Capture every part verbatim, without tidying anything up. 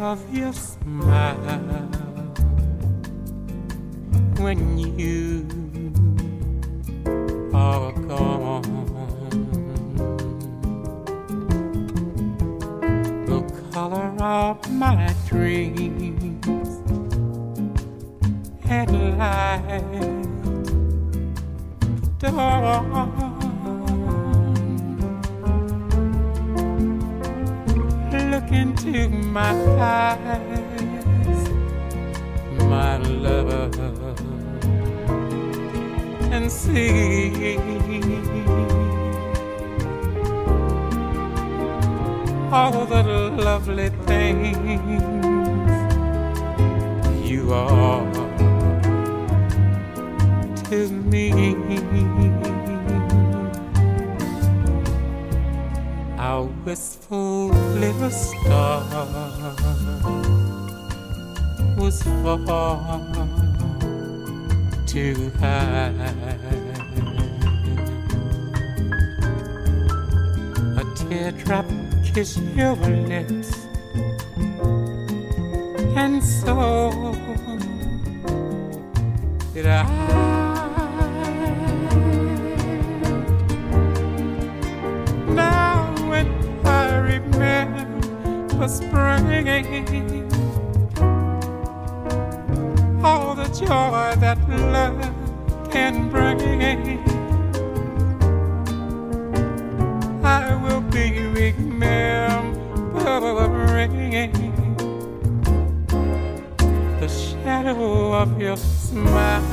of your smile when you are gone. The color of my dreams at light dawn. Look into my eyes, my lover, and see all the lovely things you are to me. Our wistful little star was far too high. A teardrop kissed your lips, and so did I. For spring, all the joy that love can bring, I will be remembering the shadow of your smile.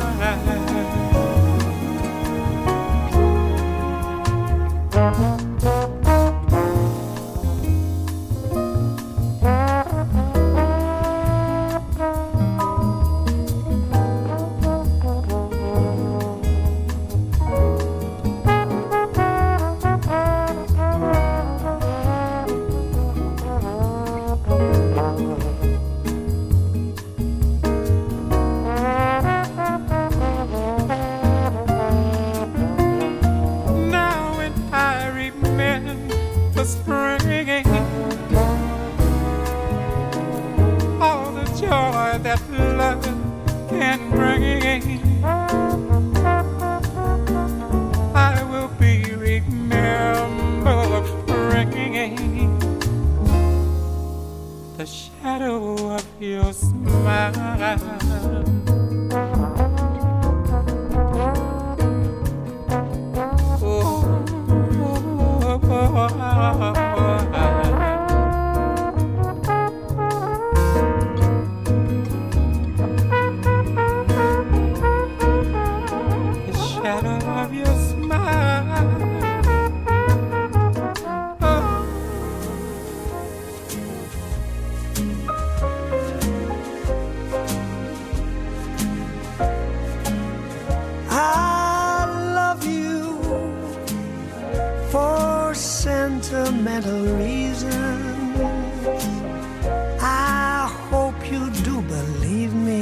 Sentimental reasons, I hope you do believe me.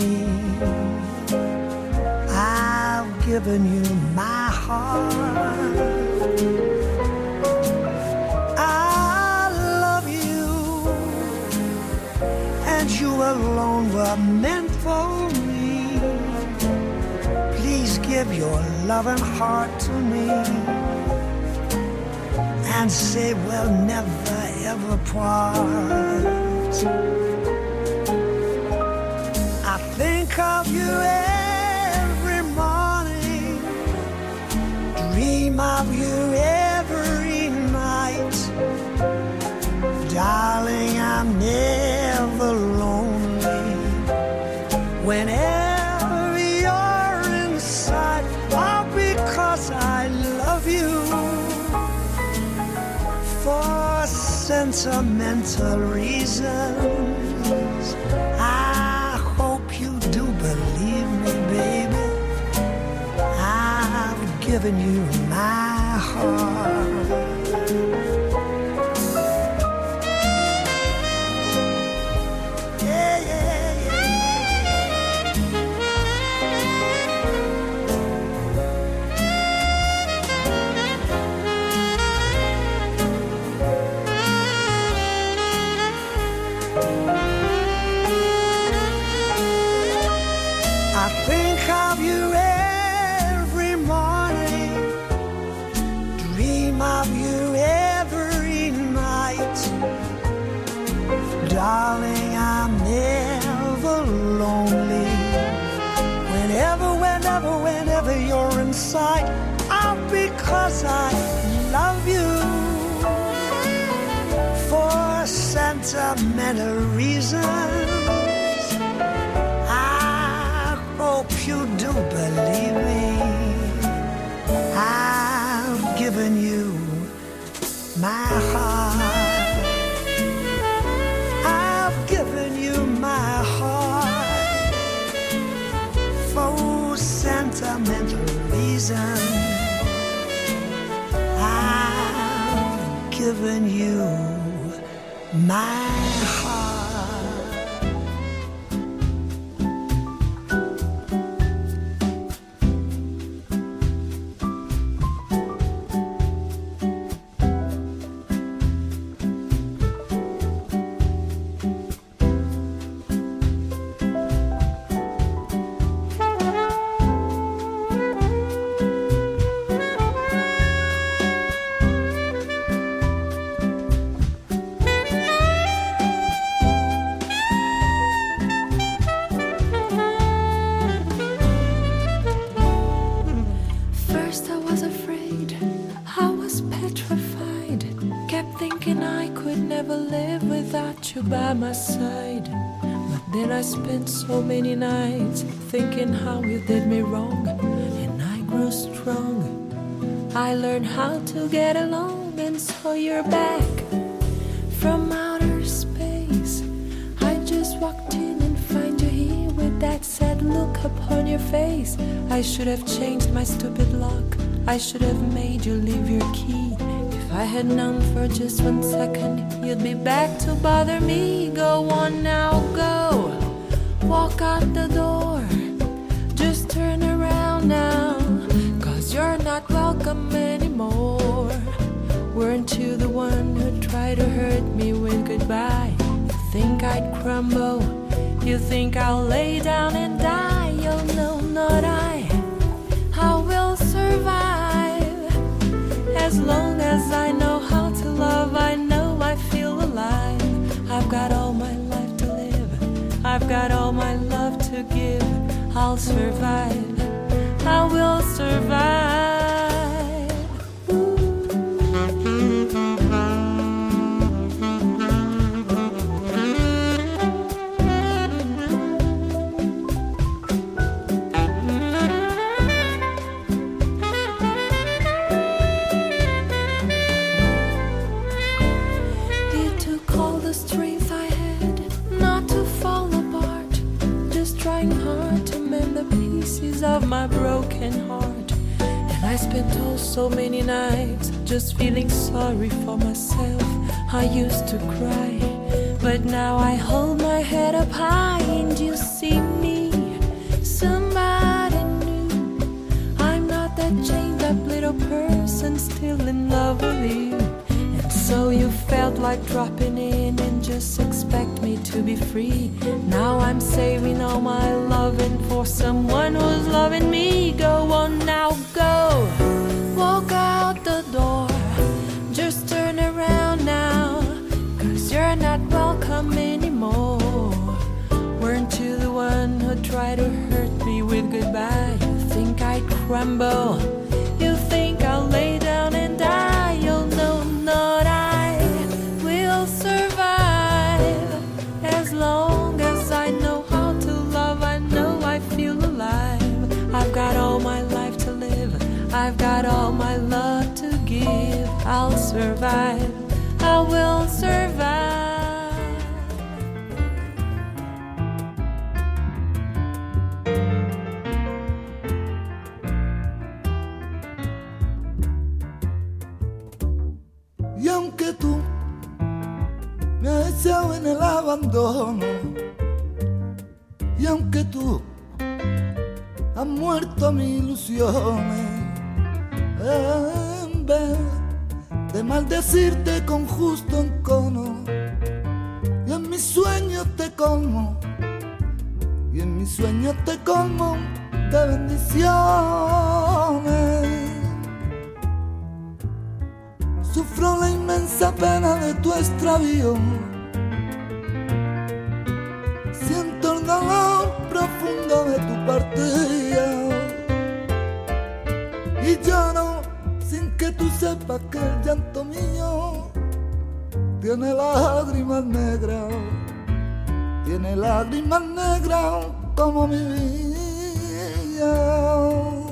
I've given you my heart. I love you, and you alone were meant for me. Please give your loving heart to me, and say we'll never ever part. I think of you every morning, dream of you every night. Darling, I'm never lonely whenever you're inside. All because I love you. For sentimental reasons, I hope you do believe me, baby. I've given you my heart. Yeah, yeah, yeah. many reasons. I hope you do believe me. I've given you my heart. I've given you my heart for sentimental reasons. I've given you my heart. By my side, but then I spent so many nights thinking how you did me wrong, and I grew strong. I learned how to get along, and so you're back from outer space. I just walked in and find you here with that sad look upon your face. I should have changed my stupid lock. I should have made you leave your key. If I had known for just one second you'd be back to bother me. Go on now, go. Walk out the door. Just turn around now, 'cause you're not welcome anymore. Weren't you the one who tried to hurt me with goodbye? You think I'd crumble? You think I'll lay down and die? Oh no, not I. I will survive. As long as I know how to love, I know I feel alive. I've got all my life to live. I've got all my love to give. I'll survive. I will survive. Of my broken heart, and I spent oh so many nights just feeling sorry for myself. I used to cry, but now I hold my head up high and you see me, somebody new. I'm not that chained up little person still in love with you. And so you felt like dropping in and just expect me to be free. Now I'm saving all my loving for someone who's loving me. Go on now, go. Walk out the door. Just turn around now, 'cause you're not welcome anymore. Weren't you the one who tried to hurt me with goodbye? You think I'd crumble? You think I'll lay down and die? You'll know not I will survive. As long as I know how to love, I know I feel alive. I've got all my life to live. I've got all my love to give. I'll survive. I will survive. Y aunque tú me has echado en el abandono, y aunque tú has muerto mis ilusiones, en vez de maldecirte con justo encono, y en mis sueños te colmo, y en mis sueños te colmo de bendiciones. Sufro la inmensa pena de tu extravío, siento el dolor profundo de tu partida, y lloro sin que tú sepas que el llanto mío tiene lágrimas negras, tiene lágrimas negras como mi vida.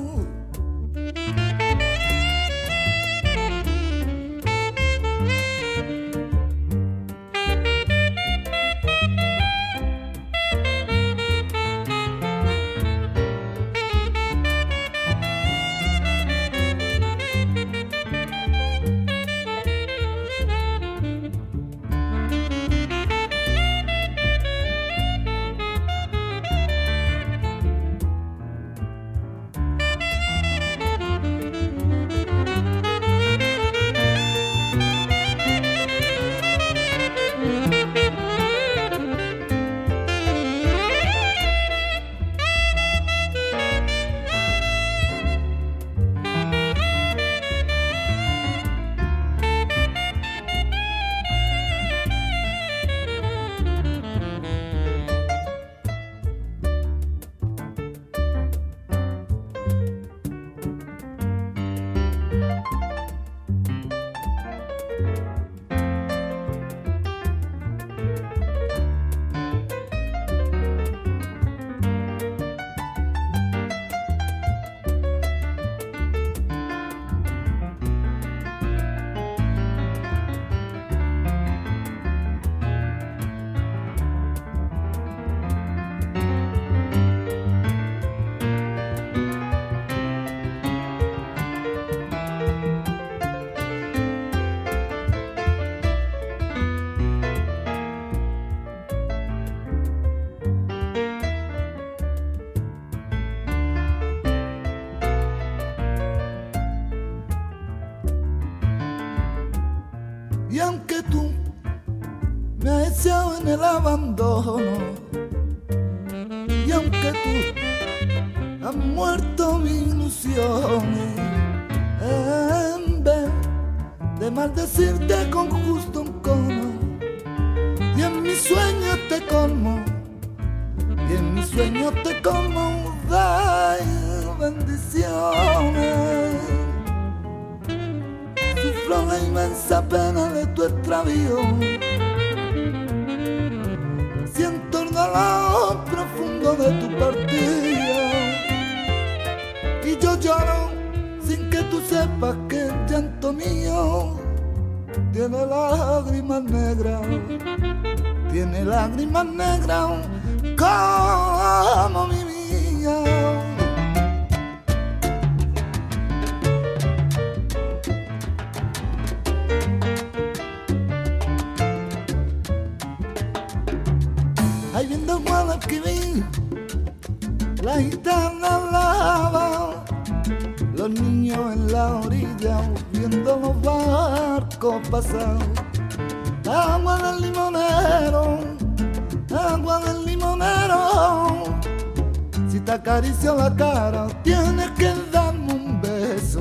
Y aunque tú me has echado en el abandono, y aunque tú has muerto mi ilusión, en vez de maldecirte con justo un cono, y en mis sueños te colmo, y en mis sueños te colmo de bendiciones. Sufro la inmensa pena de tu extravío, siento el dolor profundo de tu partida, y yo lloro sin que tú sepas que el llanto mío tiene lágrimas negras, tiene lágrimas negras como mi vida. Ahí viendo Guadalquivir, la gitana lava, los niños en la orilla viendo los barcos pasar. Agua del limonero, agua del limonero, si te acaricio la cara tienes que darme un beso.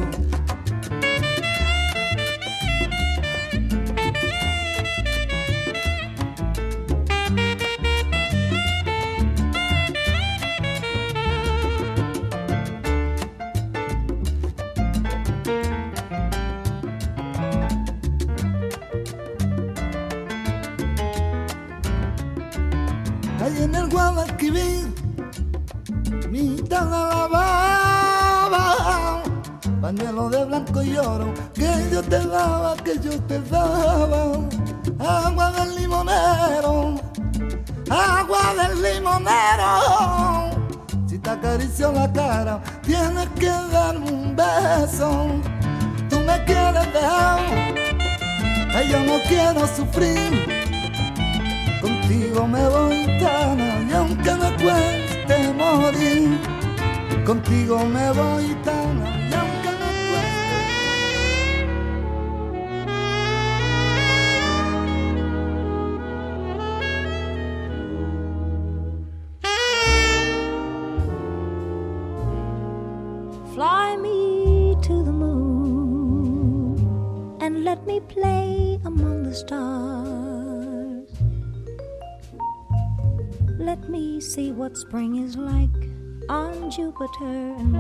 Ahí en el Guadalquivir, mi gitana lavaba, pañuelo de blanco y oro, que yo te daba, que yo te daba. Agua del limonero, agua del limonero, si te acaricio la cara, tienes que darme un beso. Tú me quieres dejar, ay, yo no quiero sufrir. Contigo me voy tana, y aunque me cueste morir, contigo me voy tana, y aunque me cueste. Fly me to the moon and let me play among the stars. Let me see what spring is like on Jupiter and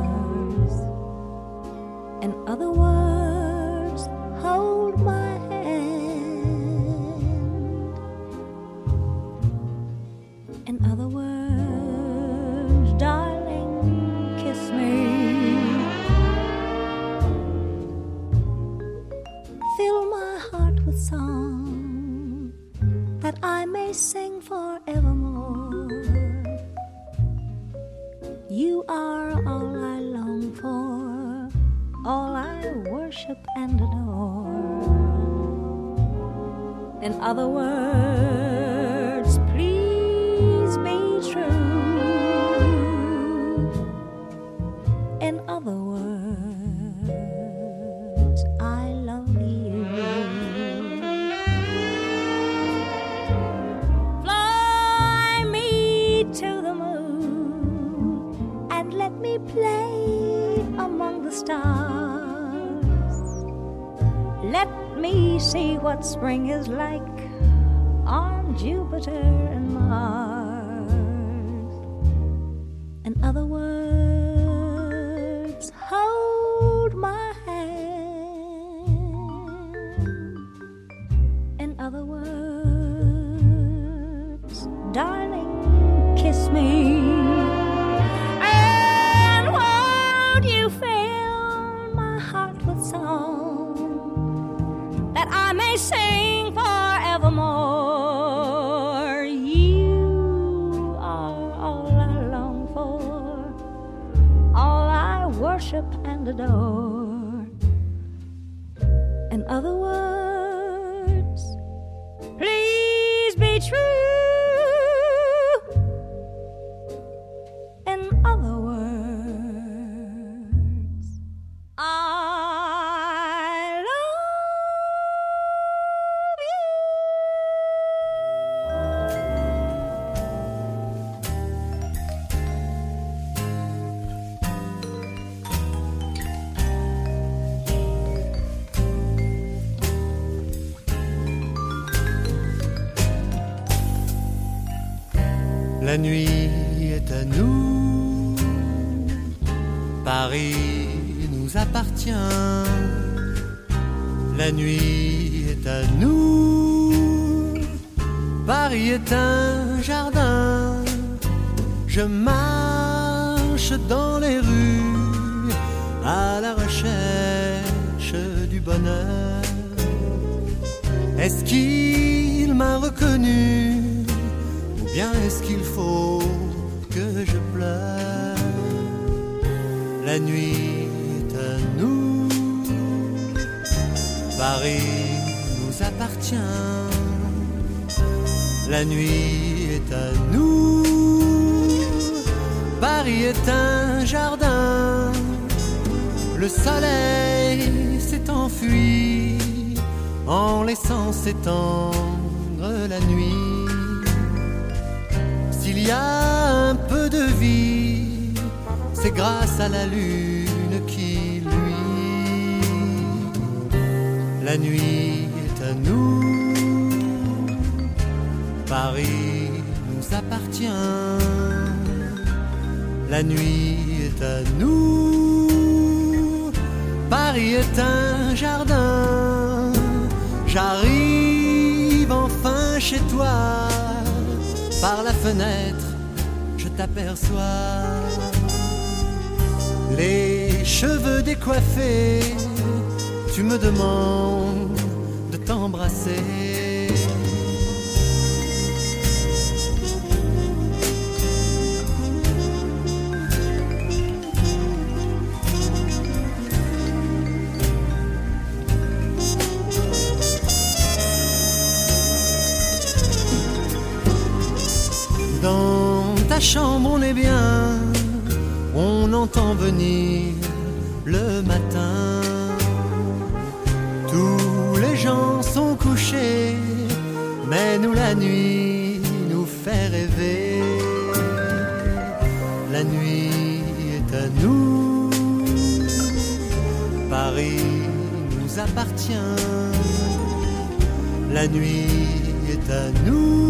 Mars. In other words, hold my hand In other words, darling, kiss me. Fill my heart with song that I may sing forevermore. You are all I long for, all I worship and adore. In other words, please be true. In other words, I love you. Fly me to the moon and let me play among the stars. Let me see what spring is like on Jupiter and Mars. In other words, hold my hand. In other words, darling, kiss me. And won't you fill my heart with song that I may sing forevermore. You are all I long for, all I worship and adore. In other words, please be true. In other words, I love La nuit est à nous, Paris nous appartient. La nuit est à nous, Paris est un jardin. Je marche dans les rues à la recherche du bonheur. Est-ce qu'il m'a reconnu? Bien est-ce qu'il faut que je pleure? La nuit est à nous, Paris nous appartient. La nuit est à nous, Paris est un jardin. Le soleil s'est enfui en laissant s'étendre la nuit. S'il y a un peu de vie, c'est grâce à la lune qui luit. La nuit est à nous, Paris nous appartient. La nuit est à nous, Paris est un jardin. J'arrive enfin chez toi. Par la fenêtre, je t'aperçois, les cheveux décoiffés, tu me demandes de t'embrasser. Dans ta chambre on est bien, on entend venir le matin. Tous les gens sont couchés, mais nous la nuit nous fait rêver. La nuit est à nous, Paris nous appartient. La nuit est à nous.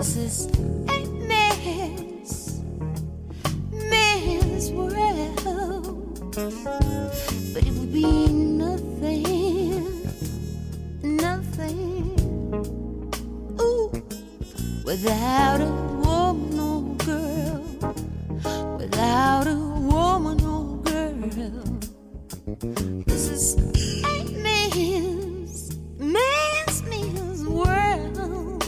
This is a man's, man's world. But it would be nothing, nothing, ooh, without a woman or girl, without a woman or girl. This is a man's, man's, man's world.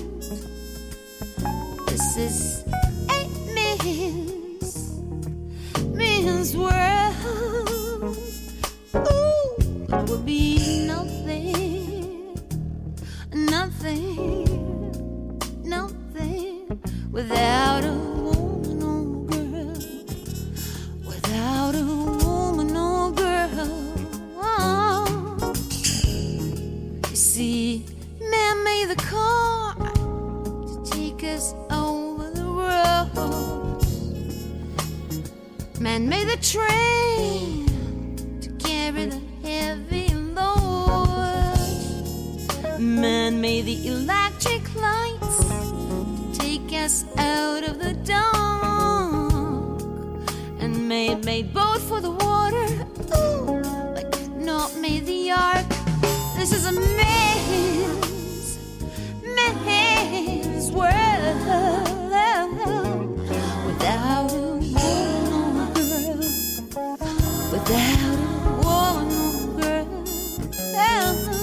This is a man's, man's world. Ooh, it would be nothing, nothing, nothing without a woman or girl, without a woman or girl. Oh. You see, man made the car to take us over the road. Man made the train to carry the heavy load. Man made the electric lights to take us out of the dark. And man made boat for the water, ooh, like Noah made the ark. This is a man's, man's world. Without a woman or girl, without a woman or girl.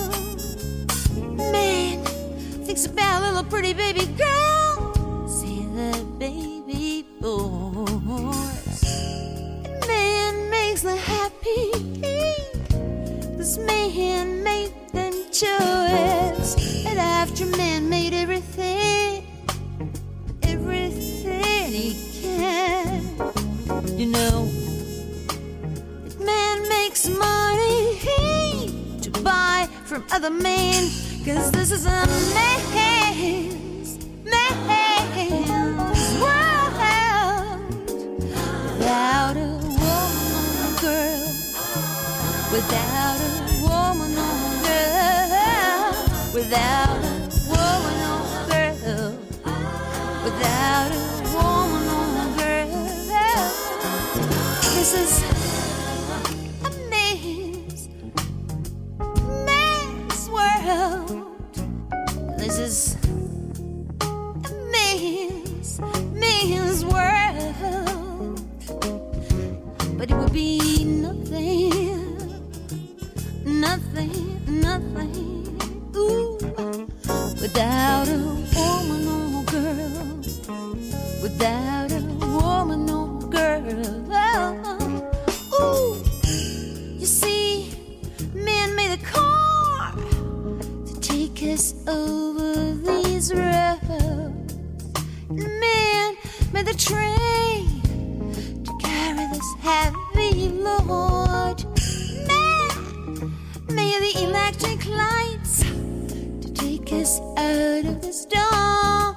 Man thinks about little pretty baby girl. See the baby boys. And man makes them happy. This man made them choice. And after man made everything, everything he can. You know, if man makes money to buy from other men, 'cause this is a man's, man's world. Without a woman or girl, without a woman or girl, without a woman or girl, without a woman or girl. This is a man's, man's world. This is a man's, man's world. But it would be nothing, nothing, nothing, ooh, without a woman or girl, without a woman or girl. Ooh, you see, man made a car to take us over these roads. Man made the train to carry this heavy load. Man made the electric lights to take us out of this dark.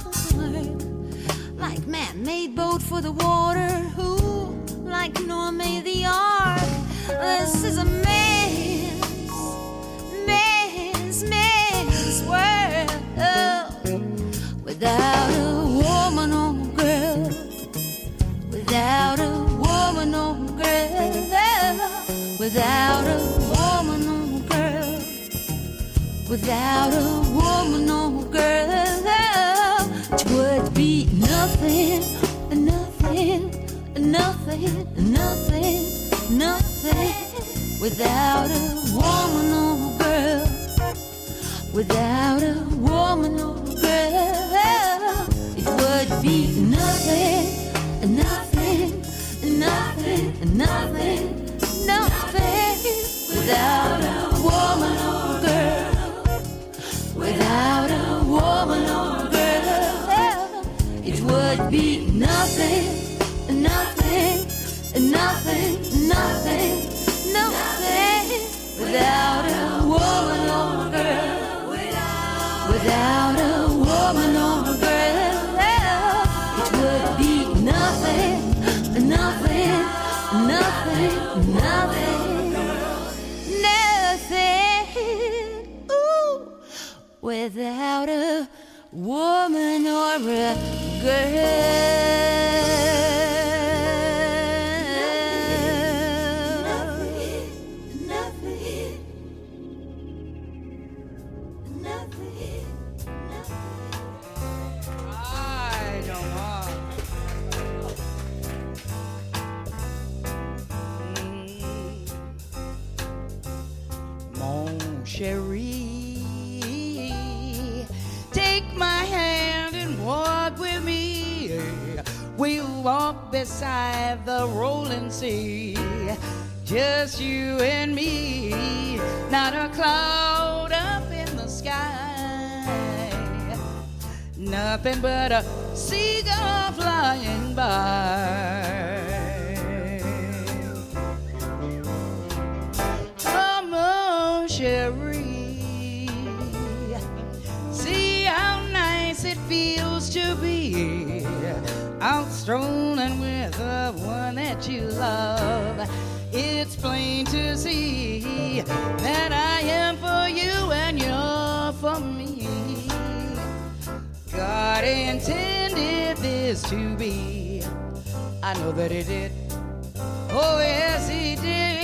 Like man made boat for the water, who like Noah made the ark. This is a man's, man's, man's world. Without a woman or girl, without a woman or girl, without a woman or girl, without a woman or girl, it would be nothing, nothing, nothing, nothing, nothing. Without a woman or girl, without a woman or girl, it would be nothing, nothing, nothing, nothing, nothing. Without a woman or girl, without a woman or girl, it would be nothing, nothing, nothing, nothing, nothing. Without a woman or girl, without a woman or girl, it would be nothing, nothing, nothing, nothing, nothing. Ooh, without a woman or a Cherie, take my hand and walk with me. We'll walk beside the rolling sea, just you and me, not a cloud up in the sky, nothing but a seagull flying by. Cherie, see how nice it feels to be out strolling with the one that you love. It's plain to see that I am for you and you're for me. God intended this to be. I know that He did. Oh yes, He did.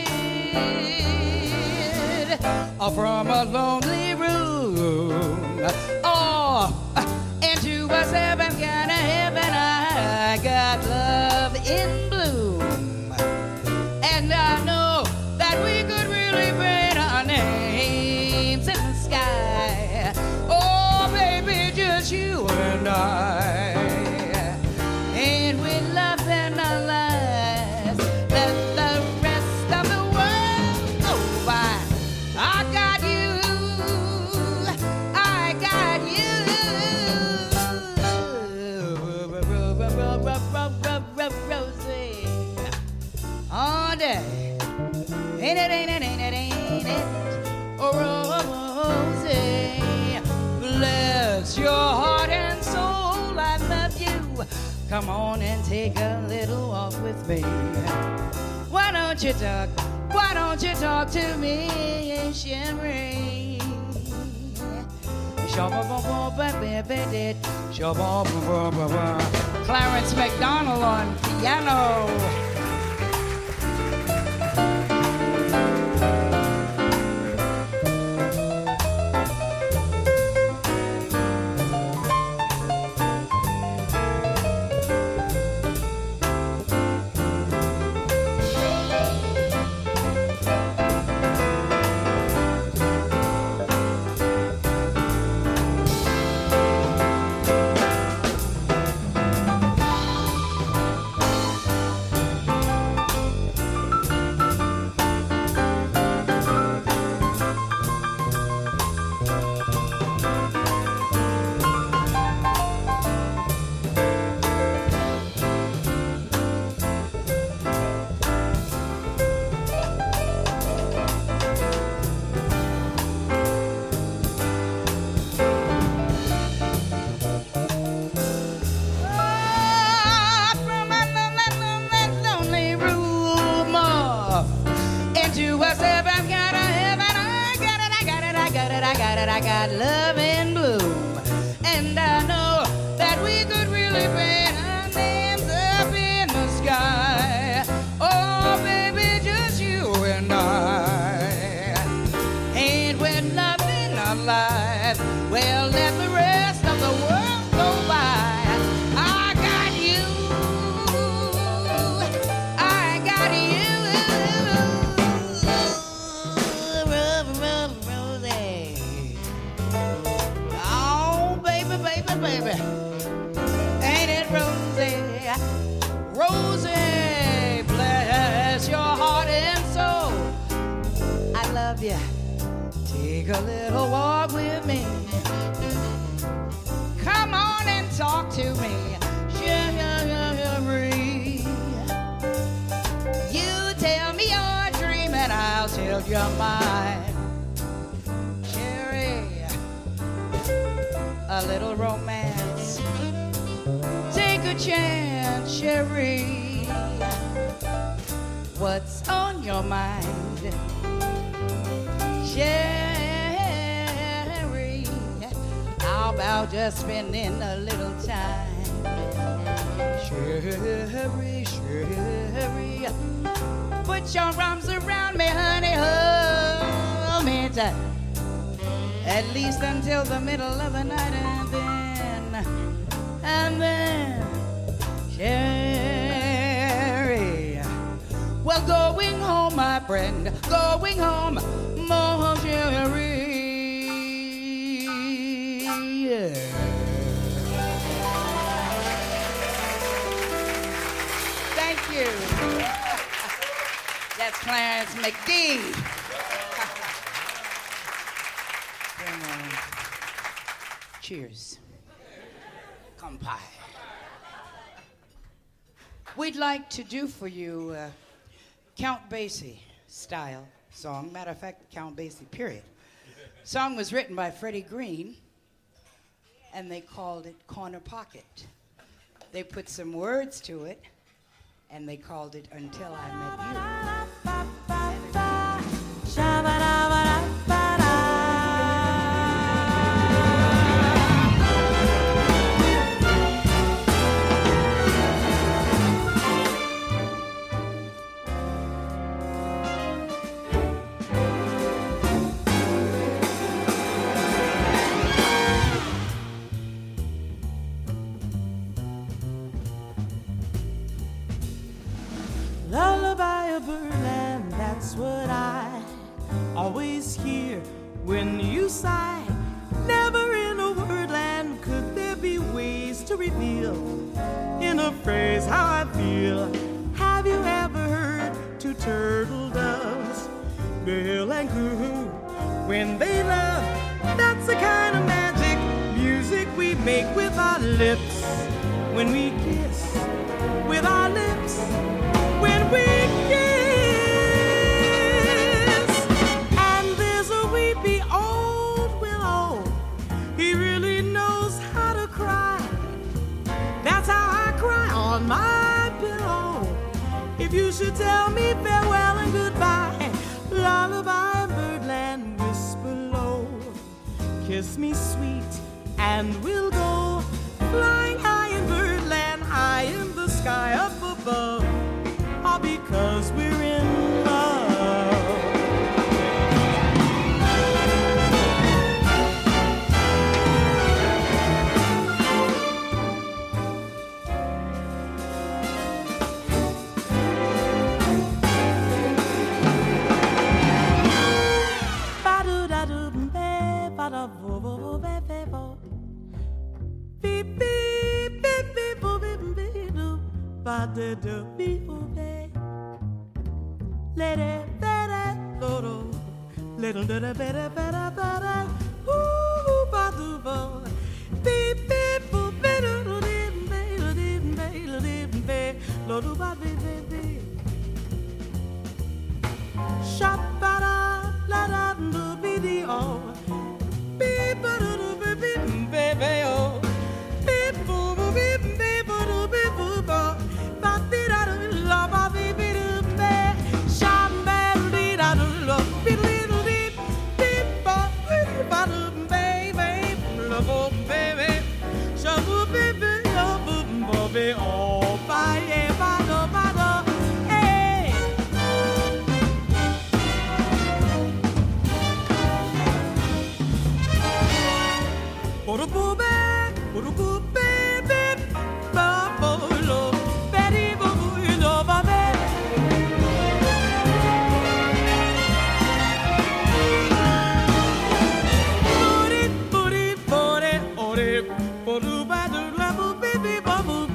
From a lonely room, oh, into a seven kind of heaven, I got love in bloom, and I know that we could really write our names in the sky. Oh, baby, just you and I, and with love in our lives, let the rest of the world go by. I got you, I got you, Rosie, all day, ain't it, ain't it, ain't it, ain't it, oh, Rosie, bless your heart and soul, I love you, come on and take a little walk with me, why don't you talk? Why don't you talk to me, Cherie? Clarence McDonald on piano. I got love in bloom, and I know that we could really paint our names up in the sky. Oh, baby, just you and I, and with nothing alive, well, let the rest of the world go by. I got you, I got you. Baby, ain't it Rosie? Rosie, bless your heart and soul. I love you. Take a little walk with me. Come on and talk to me. Cherie. You tell me your dream and I'll tell you mine. A little romance, take a chance, Cherie. What's on your mind, Cherie? I'll about just spending a little time. Sherry, Sherry, put your arms around me, honey, hold me tight. At least until the middle of the night, and then, and then, Sherry. Well, going home, my friend, going home, more Sherry. Yeah. Thank you. That's Clarence McGee. Cheers. Kampai. We'd like to do for you uh, Count Basie style song. Matter of fact, Count Basie, period. Song was written by Freddie Green, and they called it Corner Pocket. They put some words to it, and they called it Until I Met You. Lullaby of Birdland, that's what I always hear when you sigh. Never in a wordland could there be ways to reveal in a phrase how I feel. Have you ever heard two turtle doves bill and coo when they love? That's the kind of magic music we make with our lips when we kiss with our lips. When we kiss, and there's a weepy old willow, he really knows how to cry. That's how I cry on my pillow. If you should tell me farewell and goodbye, lullaby birdland, whisper low, kiss me sweet, and we'll go flying high in birdland, high in the sky up above. All because we're in love. Ba-do-da-do-be, ba-da-bo-bo-bo-be-be-bo. Beep-beep-beep-beep-bo-beep-beep-do. Ba-da-do-be-bo-be. Lady, better, little, little, little, better, better, better. Ooh, ba do ba, beep, beep, boop, better, do did, be, do did, be, do did, be, do do ba, be, be, be. Shop, ba da, la da, do be the oh, beep, ba do do be, be, be, be oh, beep, boo, boo, beep, beep, boo, do be, boo, ba, ba, di da do, la ba, be, be, do. Oh, bye, bye, bye, hey. Boo, baby, boo, boo, baby, ba, bo, lo, Betty, boo, boo, you know, ba, baby. Booty, booty, booty, booty, booty, ba, do, la, boo, baby, ba, boo.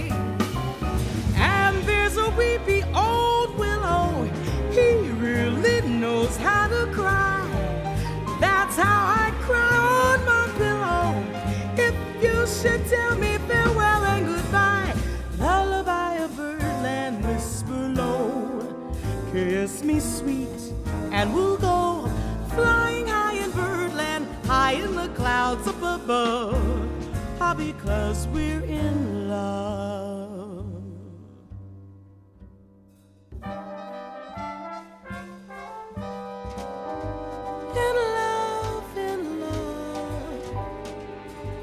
And there's a weepy old willow, he really knows how to cry. That's how I cry on my pillow. If you should tell me farewell and goodbye, lullaby of birdland, whisper low, kiss me sweet, and we'll go flying high in birdland, high in the clouds up above. All because we're in love. In love, in love.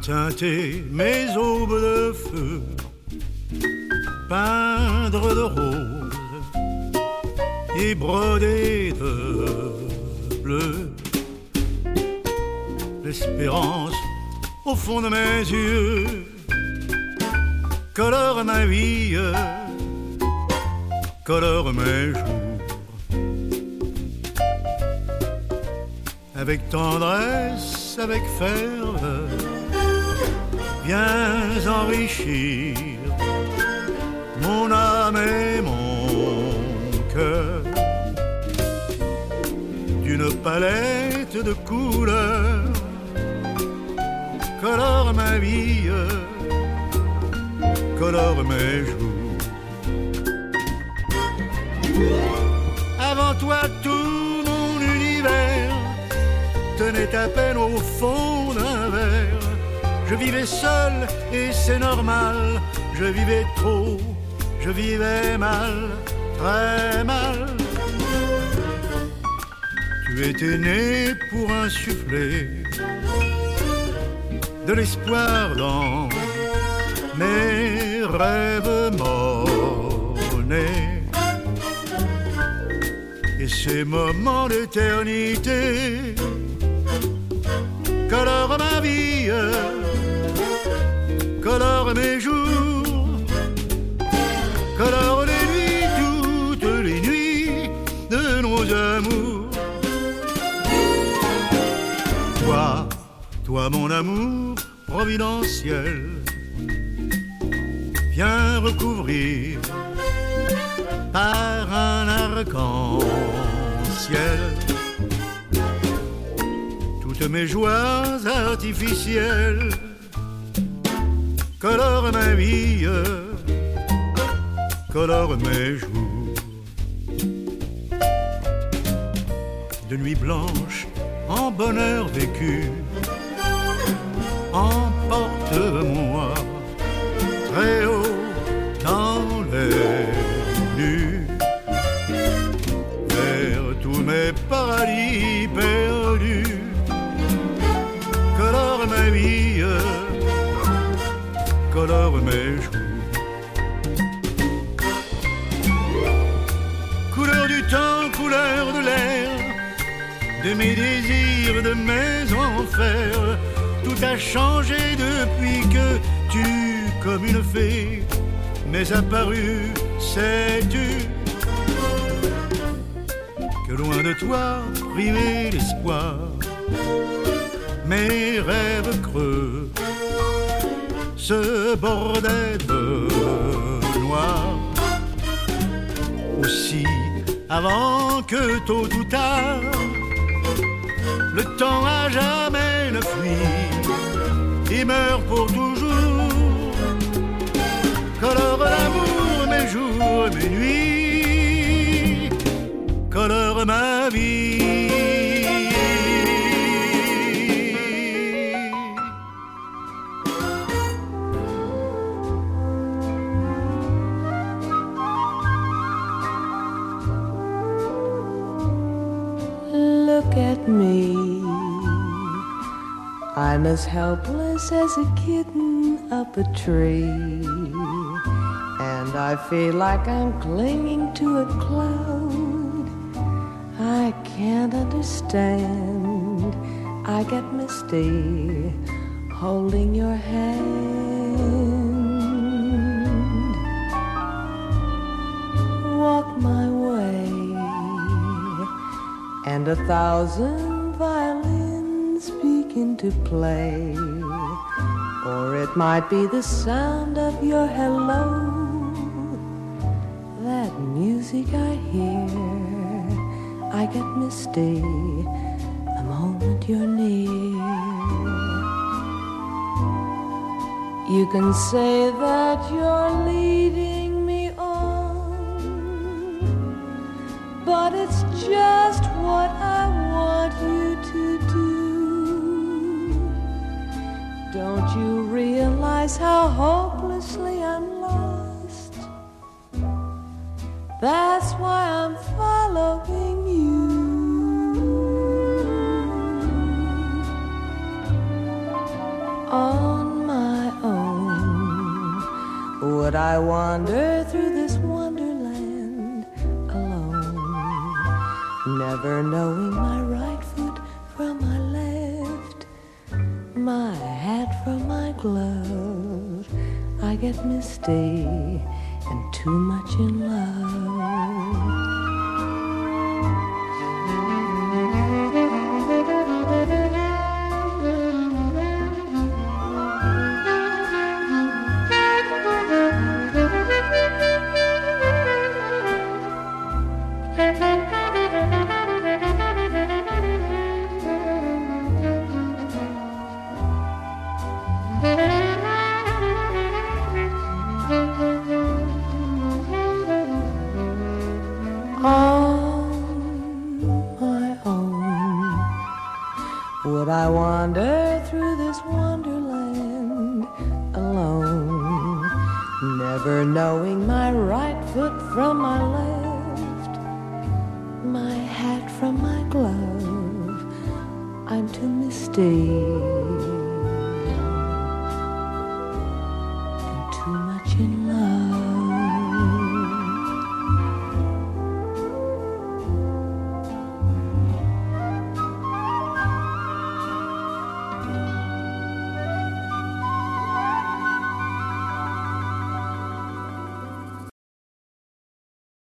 teinter mes aubes de feu, peindre de rose et broder de bleu. L'espérance au fond de mes yeux colore ma vie, colore mes jours. Avec tendresse, avec ferveur, viens enrichir mon âme et mon cœur d'une palette de couleurs. Colore ma vie, colore mes jours. Avant toi tout mon univers tenait à peine au fond d'un verre. Je vivais seul et c'est normal. Je vivais trop, je vivais mal, très mal. Tu étais né pour insuffler de l'espoir dans mes rêves morts-nés. Et ces moments d'éternité colorent ma vie, colorent mes jours, colorent les nuits, toutes les nuits de nos amours. Toi, toi mon amour providentiel, viens recouvrir par un arc-en-ciel toutes mes joies artificielles. Colore ma vie, colore mes jours. De nuit blanche en bonheur vécu, emporte-moi très haut dans les nues, vers tous mes paradis perdus. Colore ma vie, colore mes jours. Couleur du temps, couleur de l'air, de mes désirs, de mes enfers. Tout a changé depuis que tu, comme une fée, m'es apparu, sais-tu, que loin de toi, privé d'espoir, mes rêves creux se bordaient de noir. Aussi, avant que tôt ou tard, le temps à jamais ne fuit et meurt pour toujours. Colore l'amour mes jours, mes nuits, colore ma vie. Look at me, I'm as helpless as a kitten up a tree, and I feel like I'm clinging to a cloud. I can't understand, I get misty holding your hand. Walk my way, and a thousand violins begin to play, or it might be the sound of your hello, that music I hear. I get misty the moment you're near. You can say that you're leading me on, but it's just what I want you to do. Don't you realize how hopelessly I'm lost? That's why I'm following you. Oh, Would I wander through this wonderland alone, never knowing my right foot from my left, my hat from my glove? I get misty and too much in love. Would I wander through this wonderland alone, never knowing my right foot from my left, my hat from my glove? I'm too misty